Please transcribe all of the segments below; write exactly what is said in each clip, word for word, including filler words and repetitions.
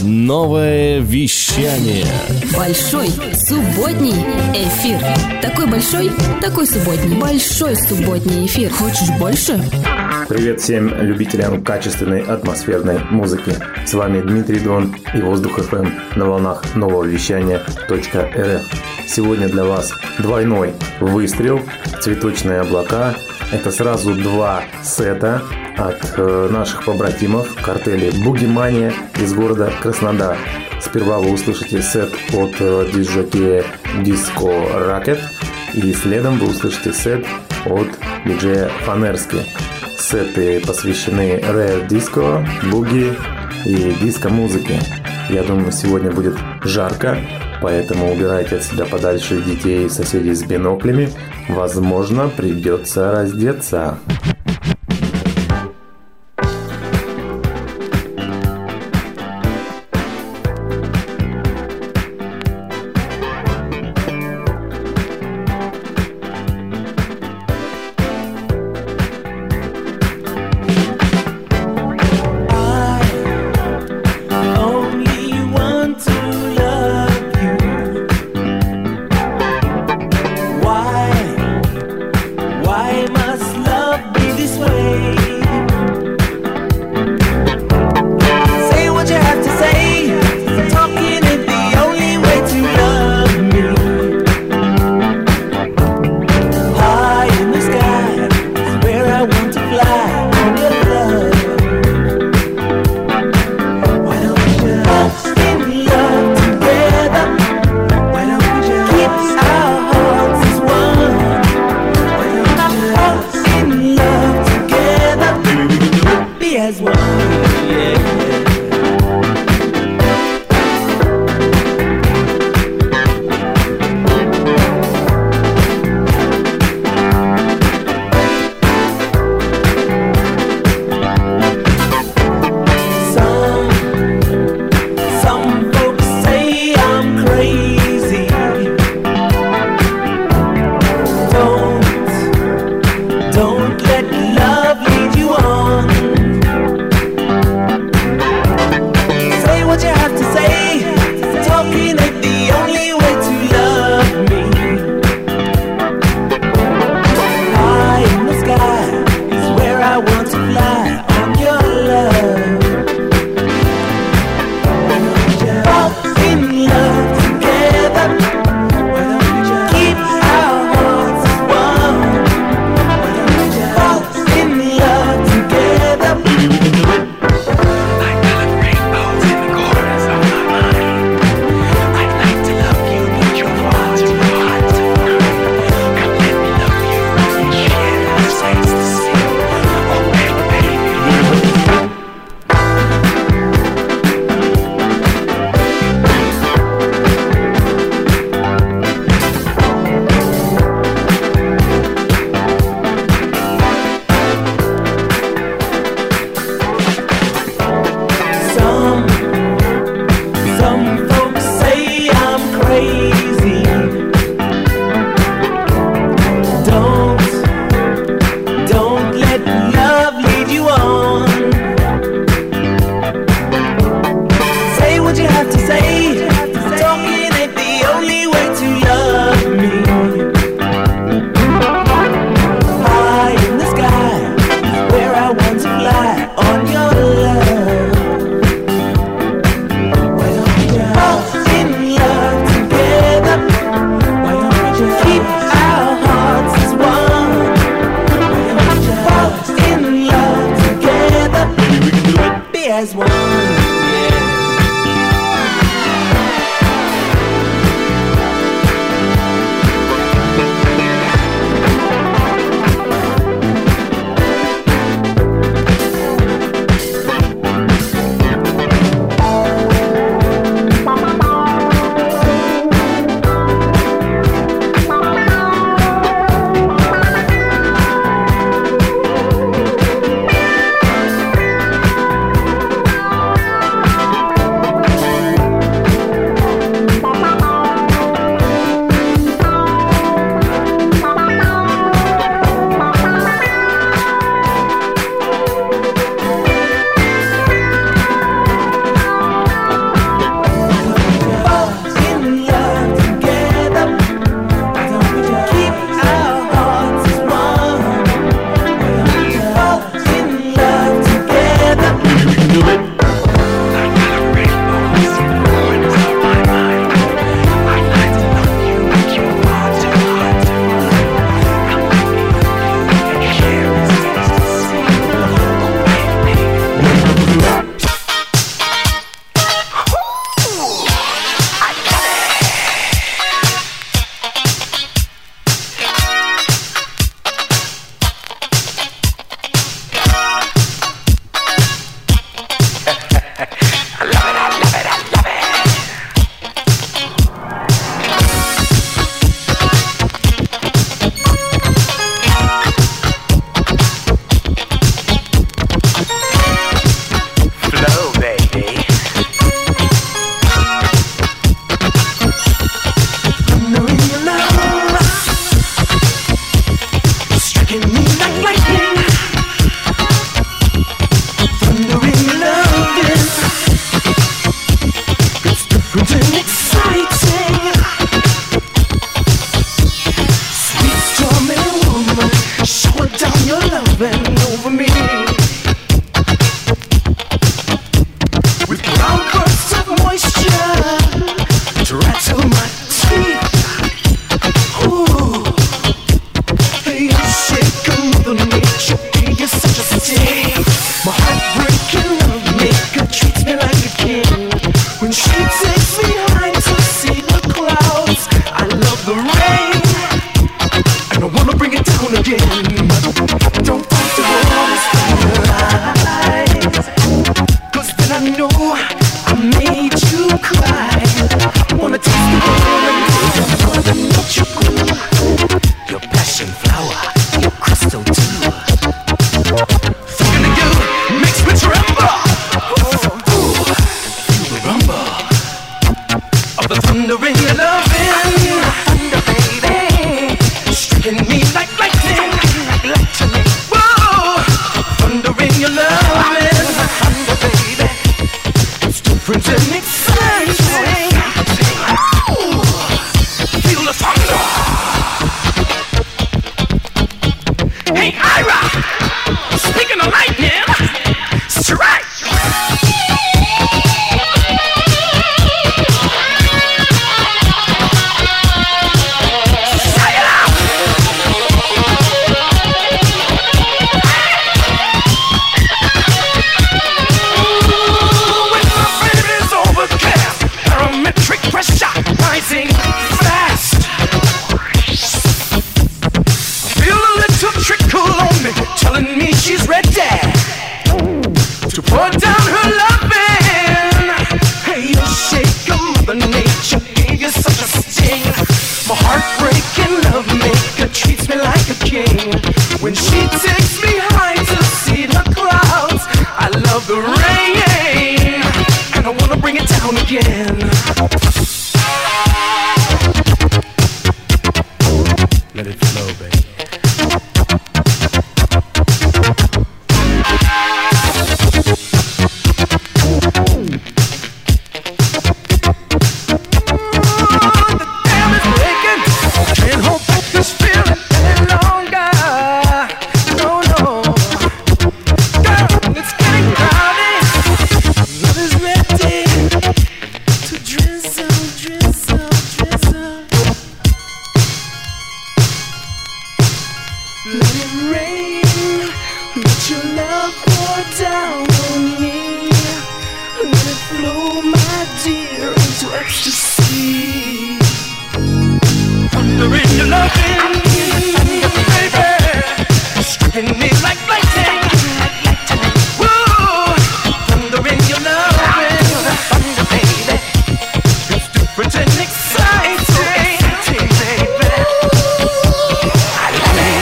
Новое вещание. Большой субботний эфир. Такой большой, такой субботний. Большой субботний эфир. Хочешь больше? Привет всем любителям качественной атмосферной музыки. С вами Дмитрий Дон и Воздух эф эм на волнах нового вещания .рф. Сегодня для вас двойной выстрел, цветочные облака. Это сразу два сета от э, наших побратимов картели Бугимания из города Краснодар. Сперва вы услышите сет от э, диджея Disco Racket, и следом вы услышите сет от диджея Фанерски. Сеты посвящены Rare Disco, буги и диско-музыке. Я думаю, сегодня будет жарко, поэтому убирайте от себя подальше детей и соседей с биноклями. Возможно, придется раздеться. As one, yeah. thunder in your loving, thunder, baby, striking me like lightning, like lightning. Whoa, thunder in your loving, thunder, baby, it's different and exciting. Ooh, feel the thunder. Hey, Ira, speaking of lightning, strike. Rising fast. Feel a little trickle on me, telling me she's ready to pour down her loving. Hey, you shaker, Mother Nature gave you such a sting. My heartbreaking love maker treats me like a king. When she takes me high to see the clouds, I love the rain, and I wanna bring it down again. Let it flow, baby. Ooh, the dam is breaking. Can't hold back this feeling any longer. No, no. Girl, it's getting crowded. Love is ready to drizzle, drizzle, drizzle. Let it rain, let your love pour down on me. Let it flow, my dear, into ecstasy. Thunder in your loving, baby, striking me like lightning, like lightning. Whoa, thunder in your loving, thunder, baby, it's different and exciting, exciting, baby. I love it.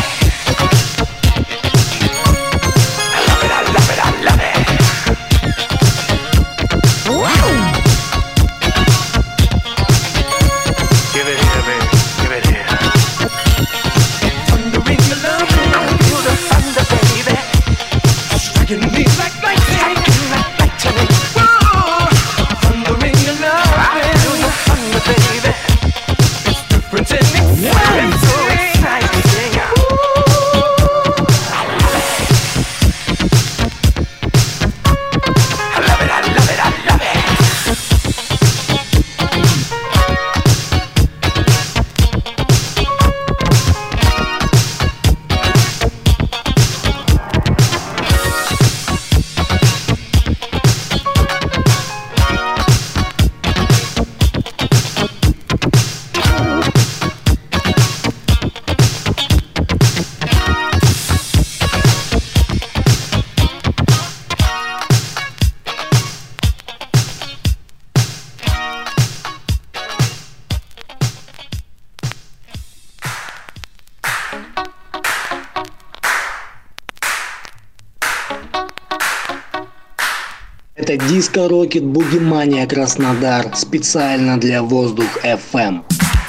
Это Disco Rocket Бугимания Краснодар специально для Воздух эф эм.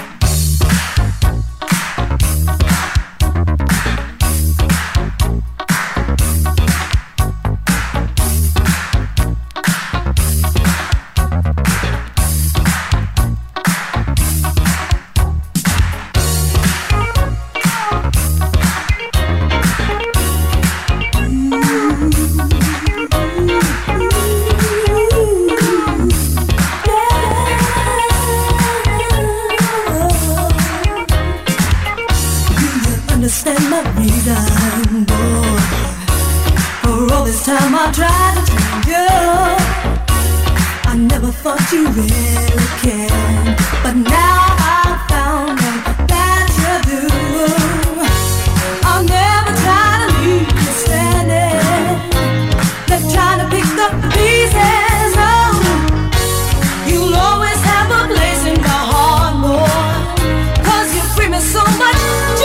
Understand my reason, boy. For all this time I tried to tell you, I never thought you really cared, but now I found out that you do. I'll never try to leave you standing, like trying to pick up the pieces. Oh, you'll always have a place in my heart, boy, 'cause you bring me so much joy.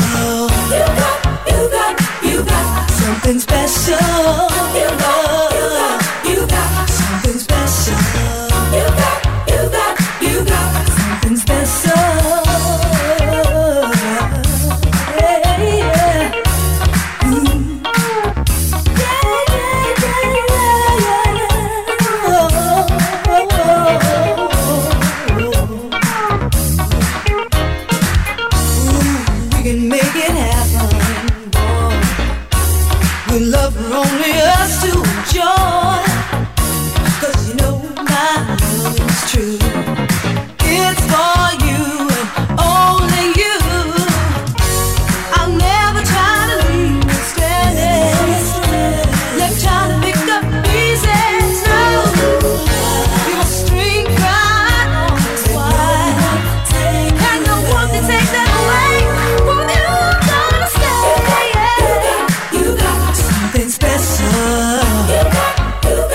Something special. You got, you got something special. You got, you love for only us to enjoy. Cause you know my love is true. It's for you and only you. I'll never try to leave you standing. Never try to pick up pieces. No, your string cry on its wide. And no one can take that away from you. Gonna stay. You got something special. You got, you got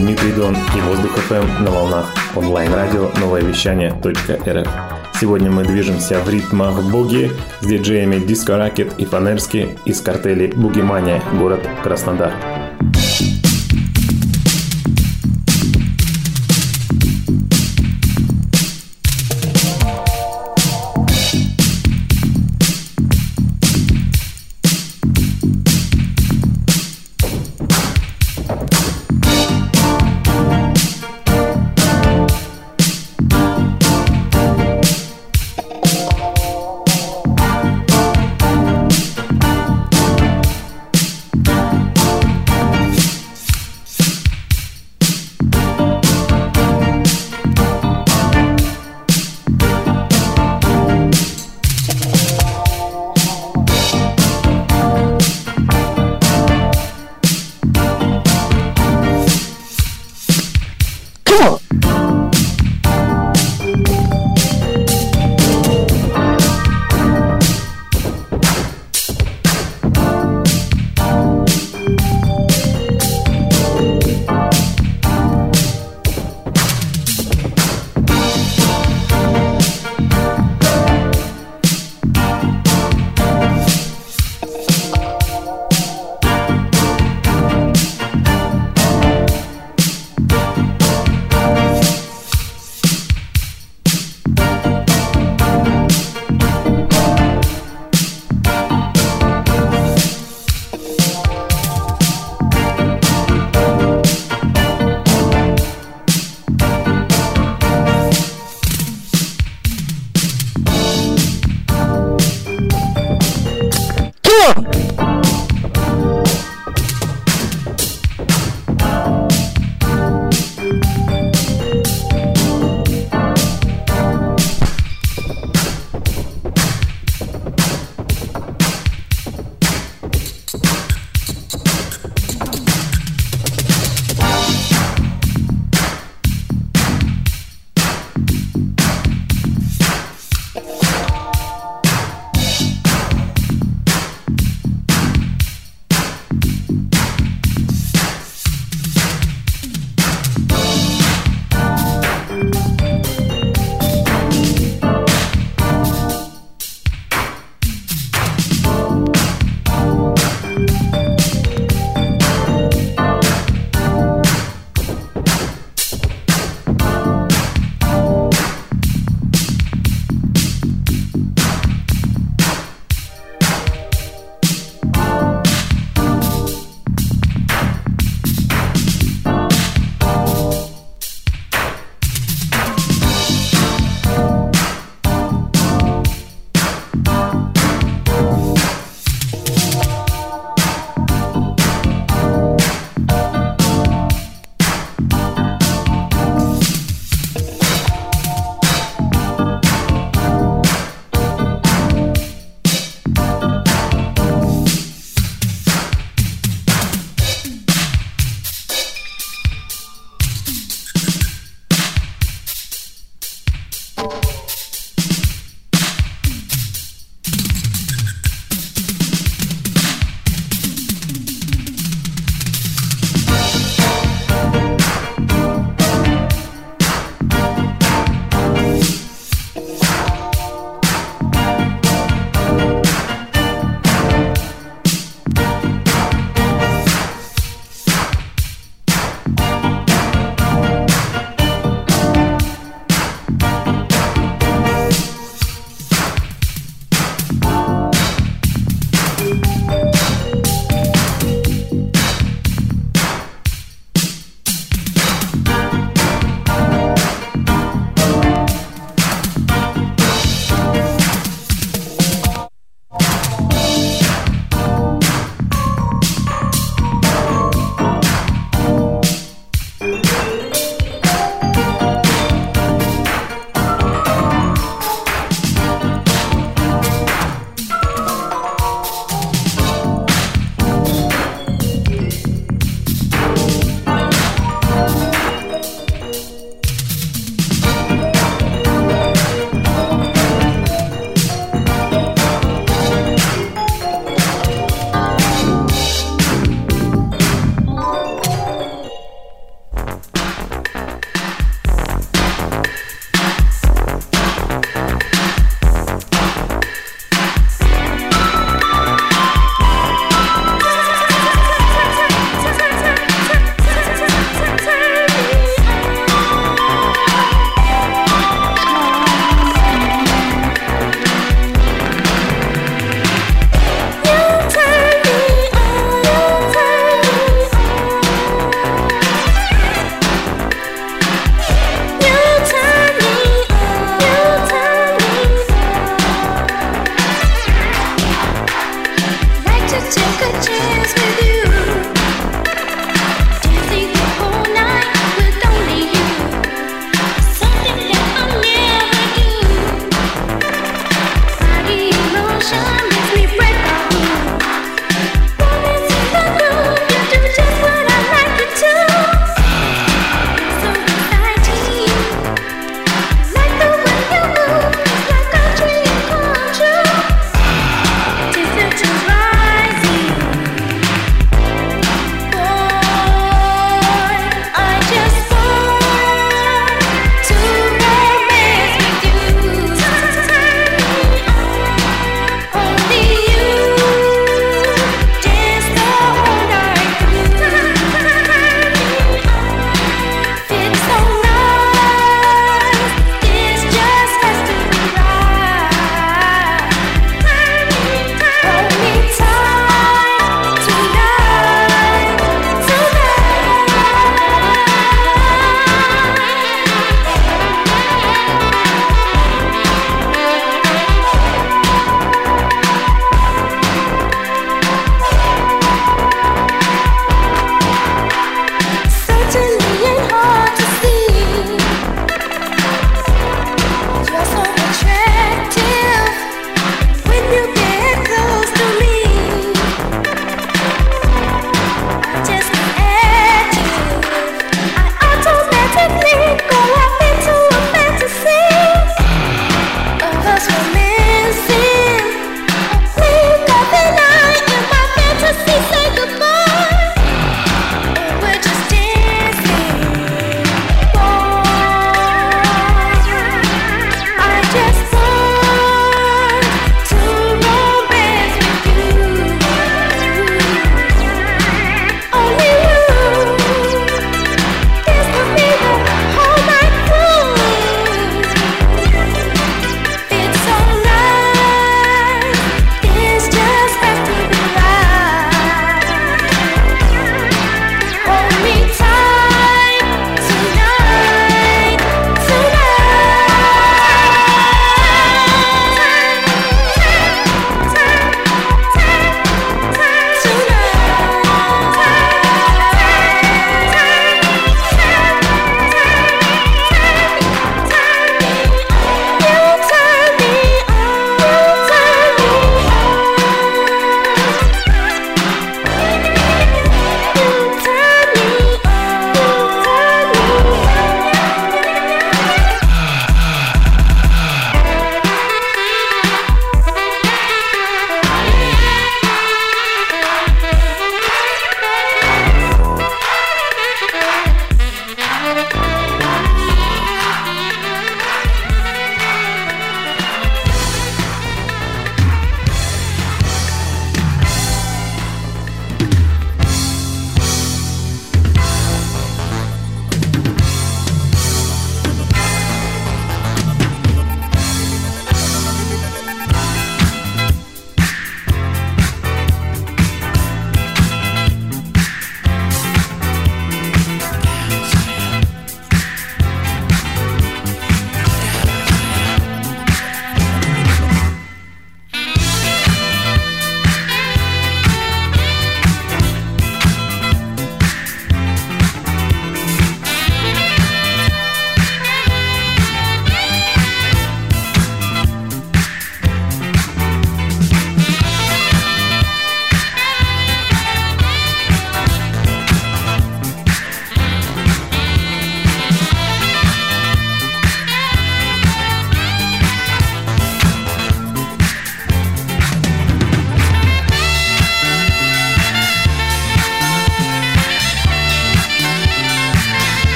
Дмитрий Дон и Воздух эф эм на волнах онлайн-радио новое вещание точка эр эф. Сегодня мы движемся в ритмах буги с диджеями Disco Racket и Фанерски из картели Бугимания, город Краснодар.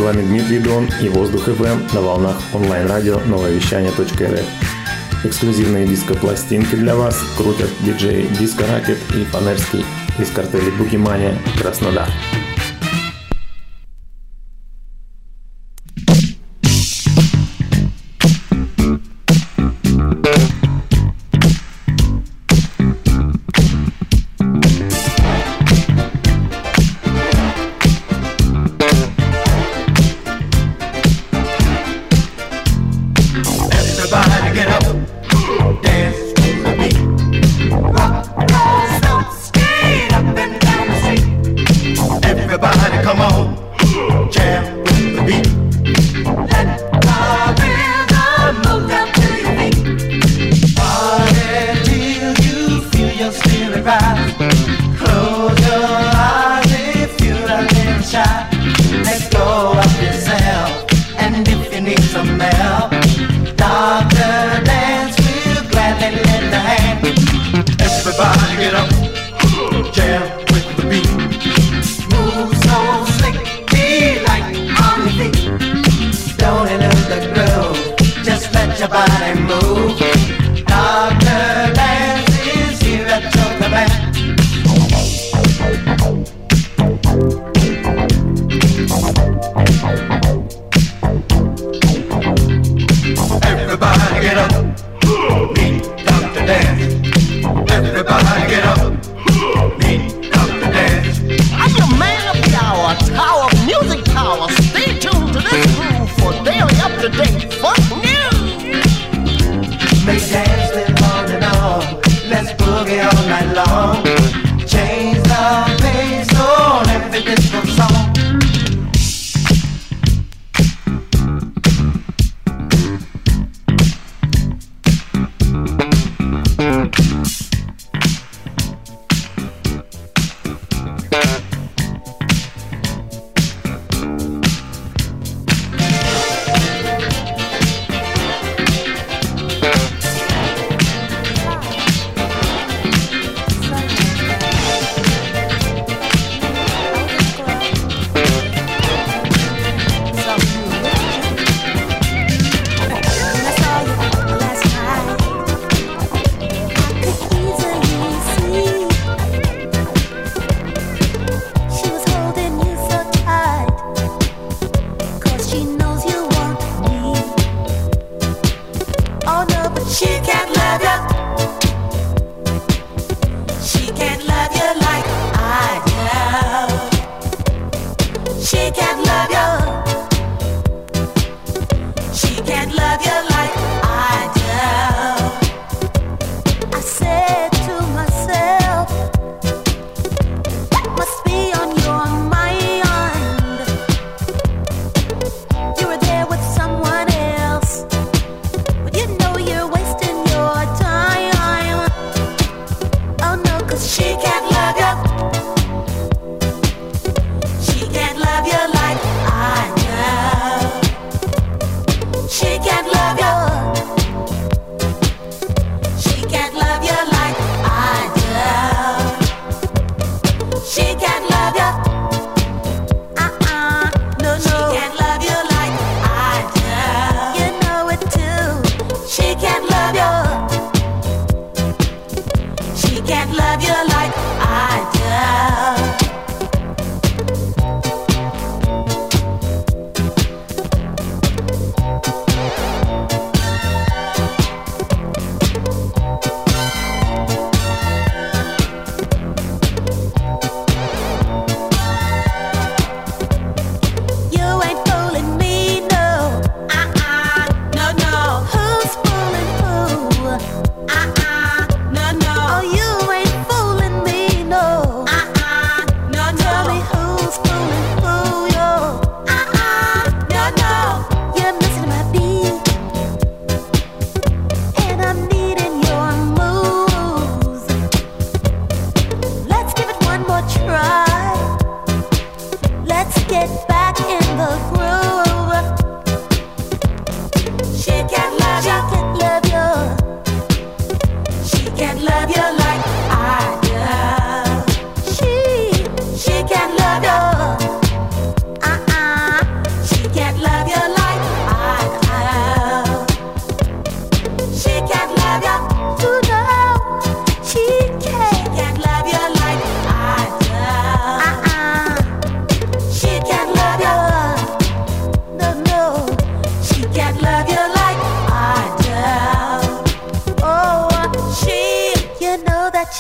вами Дмитрий Дон и Воздух эф эм на волнах онлайн-радио новое вещание точка эр эф. Эксклюзивные диско-пластинки для вас крутят диджеи Диско Ракет и Фанерский из картеля Бугимания Краснодар. Make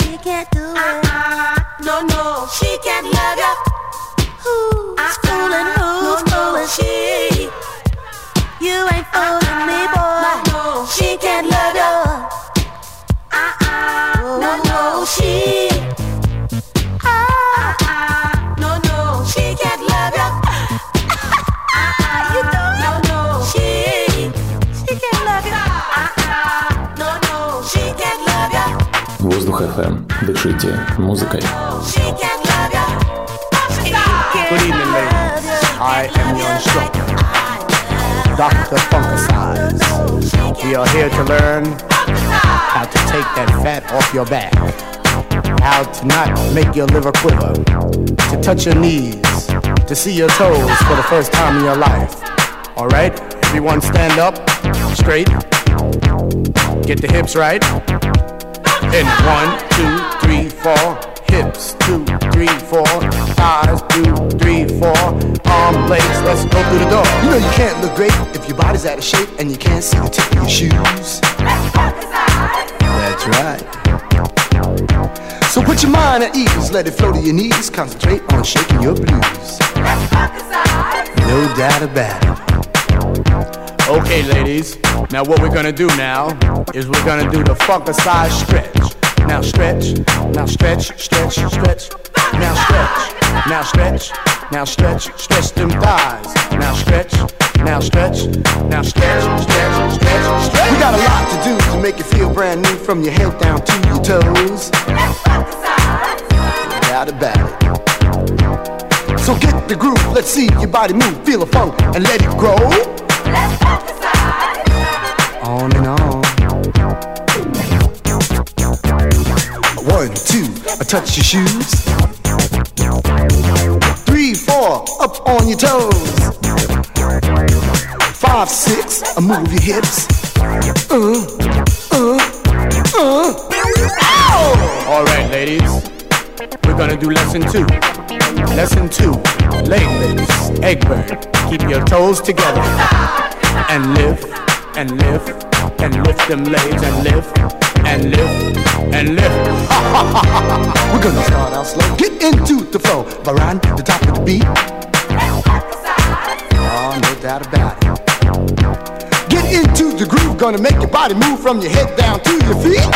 she can't do it. Uh-uh. No, no, she can't love you. Who's uh-uh. fooling? Who's no, fooling? No. She. You ain't fooling uh-uh. me, boy. No, no. She can't love you. Uh-uh. Oh, no, no, she. Uh-uh. No, no, she can't love you. Uh-uh. You don't. No, no, she. She can't love you. Uh-uh. No, no, she can't love you. Воздух эф эм. Дышите музыкой. Good evening, ladies. I am your instructor, Doctor Funkicize. We are here to learn how to take that fat off your back, how to not make your liver quiver, to touch your knees, to see your toes for the first time in your life. All right, everyone stand up, straight, get the hips right. And one, two, three, four, hips, two, three, four, thighs, two, three, four, arm, legs, let's go through the door. You know you can't look great if your body's out of shape and you can't see the tip of your shoes. That's right. So put your mind at ease, let it flow to your knees, concentrate on shaking your blues. No doubt about it. Okay, ladies, now what we're gonna do now is we're gonna do the Funkicize stretch. Now stretch, now stretch, stretch, stretch. Now stretch, now stretch, now stretch, stretch them thighs. Now stretch, now stretch, now stretch, stretch, stretch, stretch. We got a lot to do to make you feel brand new from your head down to your toes. No doubt about it. So get the groove, let's see your body move, feel the funk and let it grow. On and on. One, two, I touch your shoes. Three, four, up on your toes. Five, six, I move your hips. Uh, uh, uh. Ow! All right, ladies, we're gonna do lesson two. Lesson two, leg lifts, egg bird. Keep your toes together and lift and lift and lift them legs and lift and lift and lift. We're gonna start out slow. Get into the flow, around the top of the beat. Oh, no doubt about it. Get into the groove, gonna make your body move from your head down to your feet.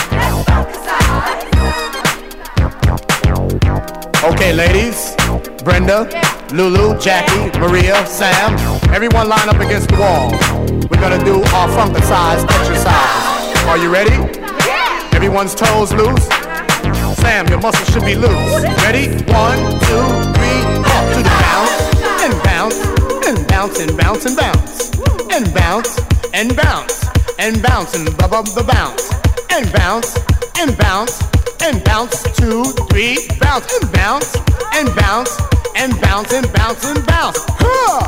Okay, ladies, Brenda, Lulu, Jackie, Maria, Sam, everyone line up against the wall. We're gonna do our Funkicize exercise. Are you ready? Yeah. Everyone's toes loose. Sam, your muscles should be loose. Ready? One, two, three, up to the bounce and bounce and bounce and bounce and bounce and bounce and bounce and bounce and bub the bounce and bounce and bounce and bounce. Two, three, bounce and bounce and bounce and bounce and bounce and bounce. Huh.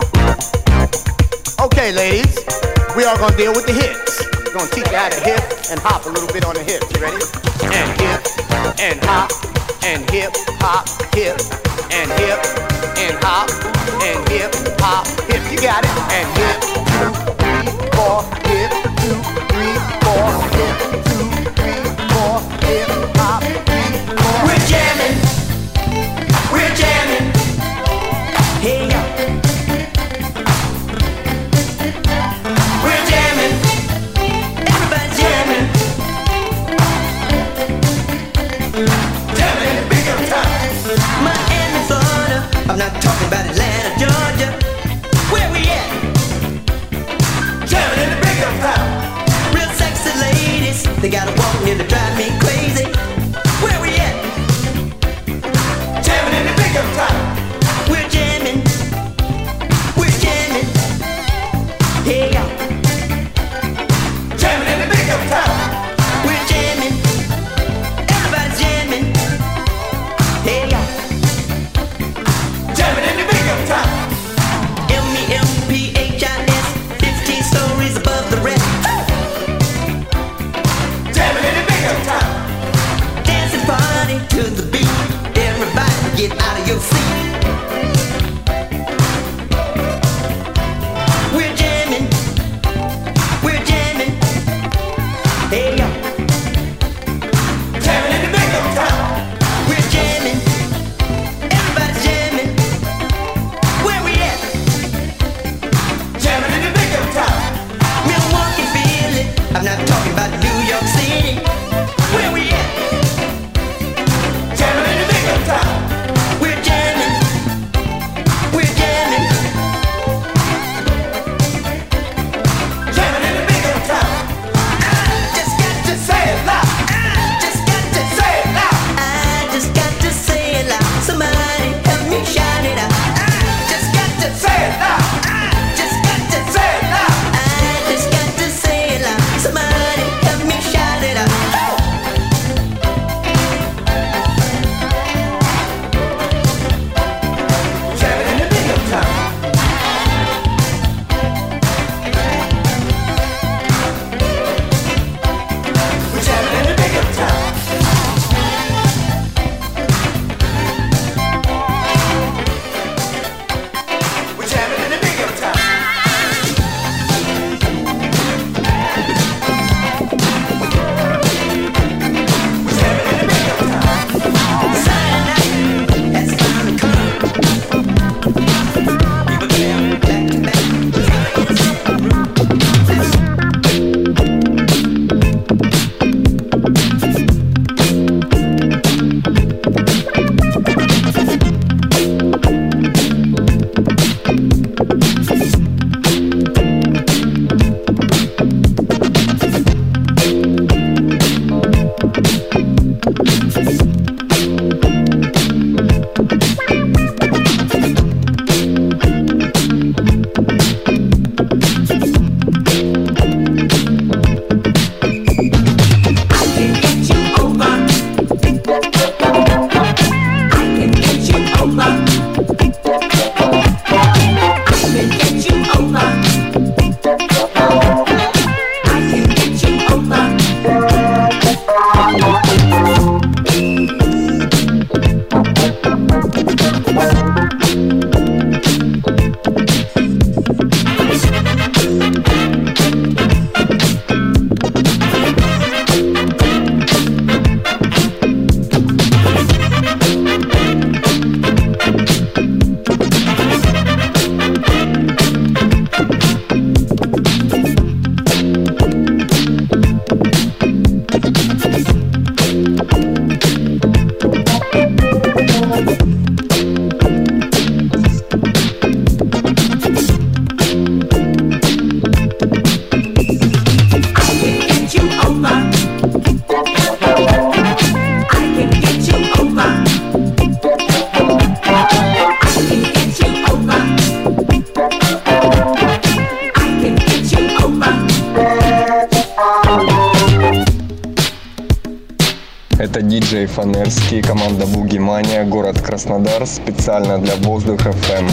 Okay, ladies, we are gonna deal with the hips. We're gonna teach you how to hip and hop a little bit on the hips. You ready? And hip and hop and hip, hop, hip and hip and hop and hip, hop, hip. You got it. And hip, two, three, four, hip, two, three, four, hip, two, three, four, hip, hop, three, four. We're jamming. We're jamming. Hey, yo. We're jamming. Everybody's jamming. Jamming in the big up time. Miami, Florida. I'm not talking about Atlanta, Georgia. Where we at? Jamming in the big up time. Real sexy ladies. They got a walk near to drive me crazy. Where we at? Jamming in the big up time. We're jamming. We're jamming. Hey, yo. Jamming in the big up time. We're jamming. Everybody's jamming. Hey, yo. Jamming in the big up time. M E M P H I S, fifteen stories above the rest. Jamming in the big up time. Dancing party to the beat. Everybody get out of your seat. We're jamming. диджей Фанерский, команда Boogie Mania, город Краснодар, специально для Воздух эф эм.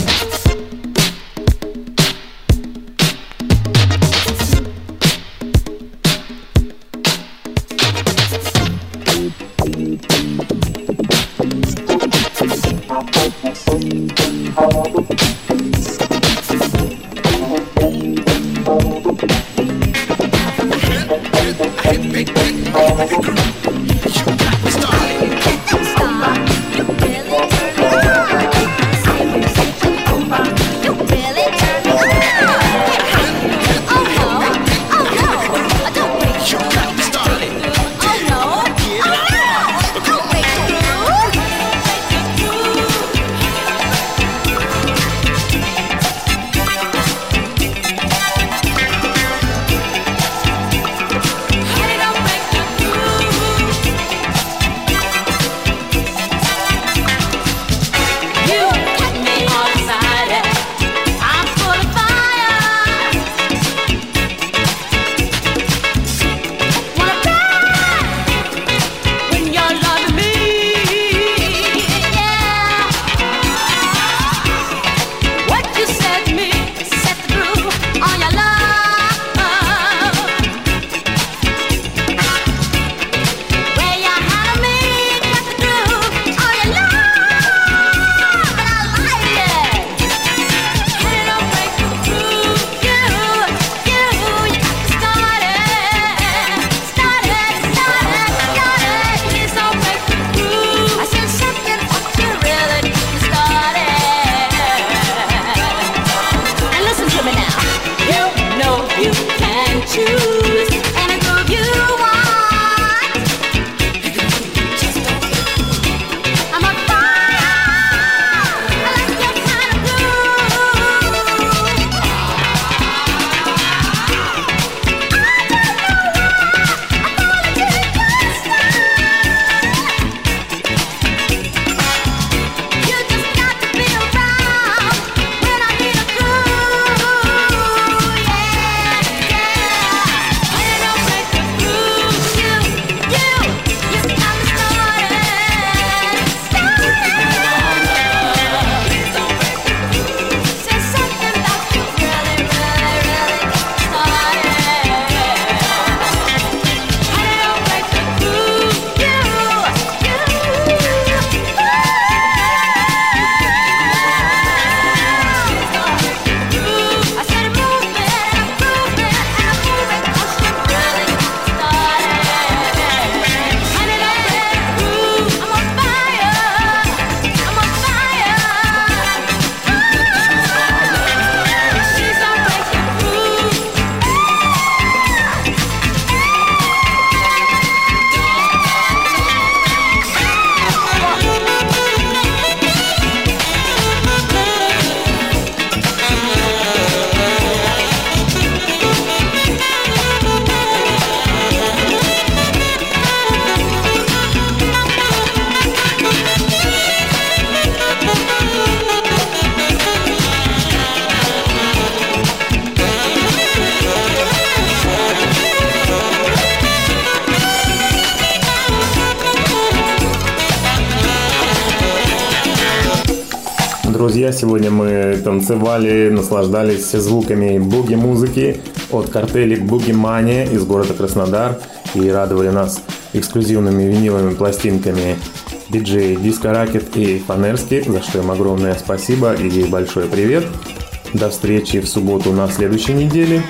Друзья, сегодня мы танцевали, наслаждались звуками буги-музыки от картелей Boogie Mania из города Краснодар и радовали нас эксклюзивными виниловыми пластинками диджей Disco Racket и Фанерский, за что им огромное спасибо и большой привет. До встречи в субботу на следующей неделе.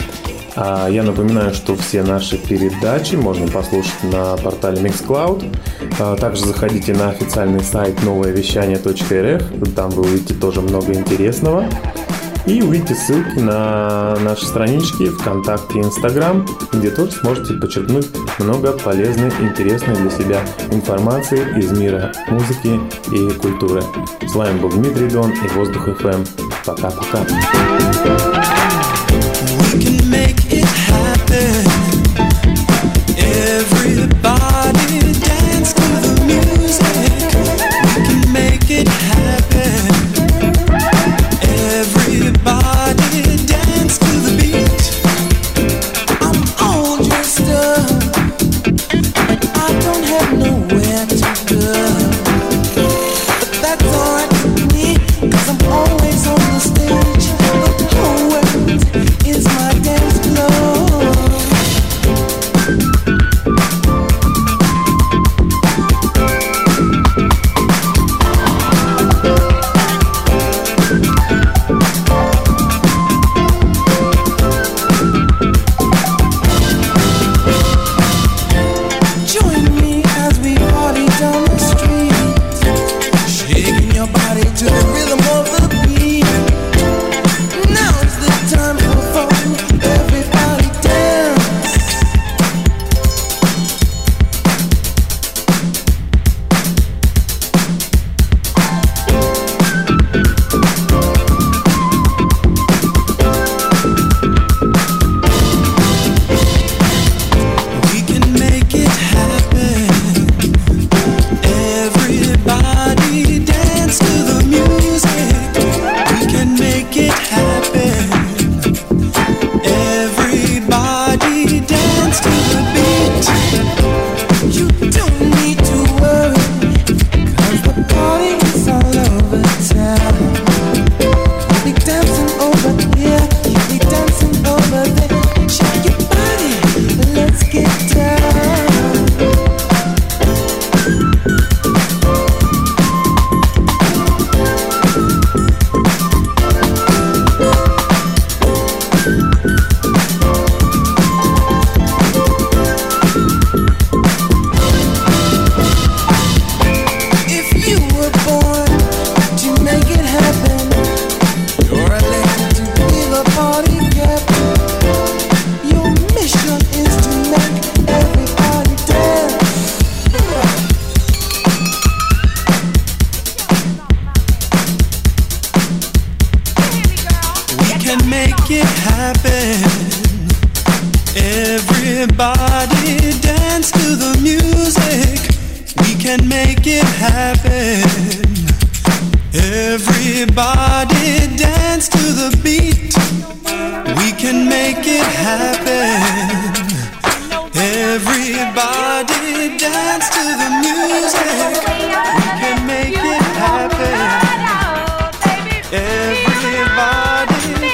А я напоминаю, что все наши передачи можно послушать на портале Mixcloud. А также заходите на официальный сайт новое вещание точка эр эф. Там вы увидите тоже много интересного. И увидите ссылки на наши странички ВКонтакте и Инстаграм, где тоже сможете подчеркнуть много полезной, интересной для себя информации из мира музыки и культуры. С вами был Дмитрий Дон и Воздух эф эм. Пока-пока. We can make it happen. Everybody dance to the music. We can make it happen. Everybody dance to the beat. I'm all dressed up, but I don't have nowhere to go. Everybody dance to the music. We can make it happen. Everybody dance to the beat. We can make it happen. Everybody dance to the music. We can make it happen. Everybody dance to the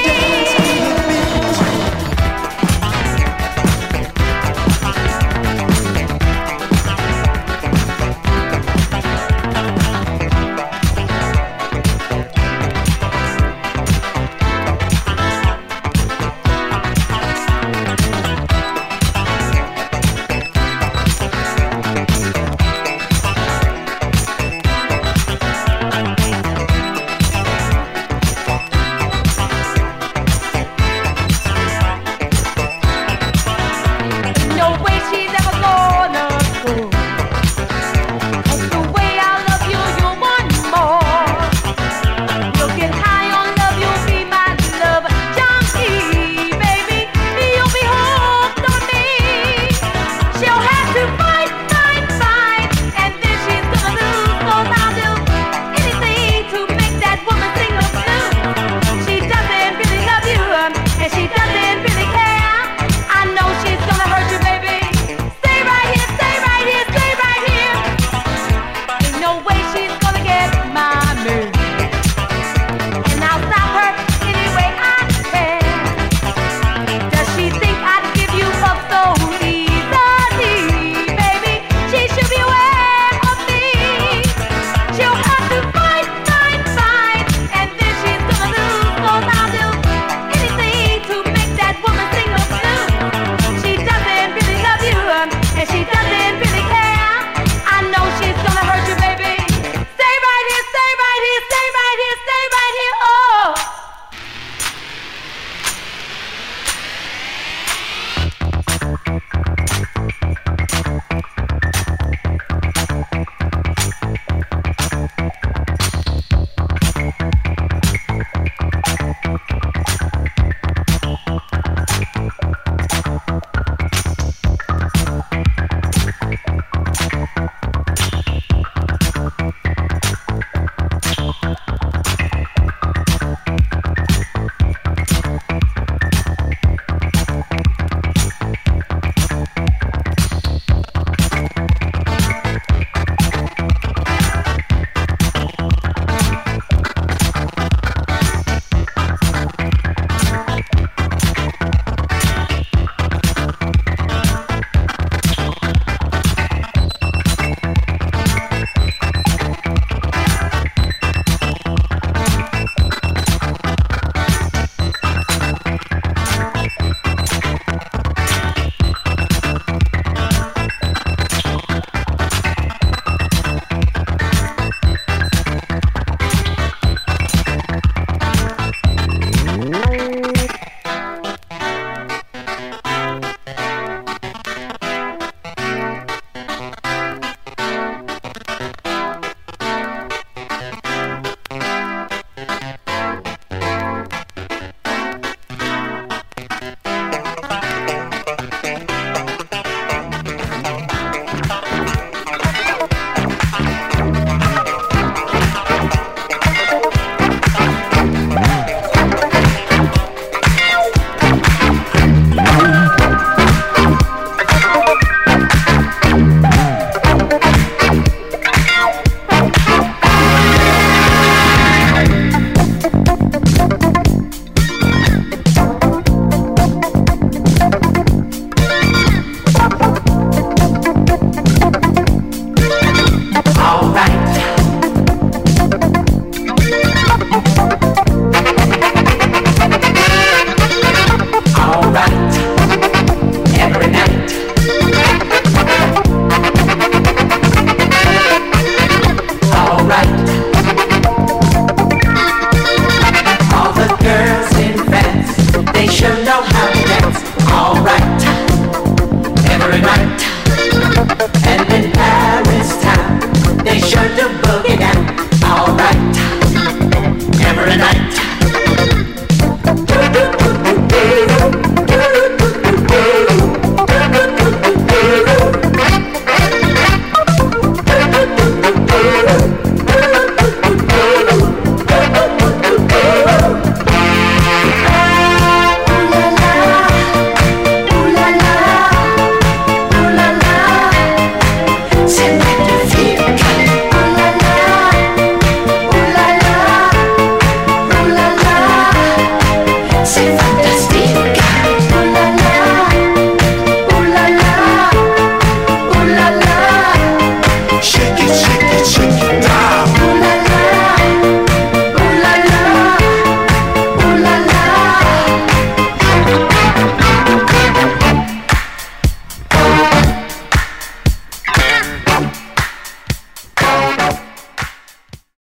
All right.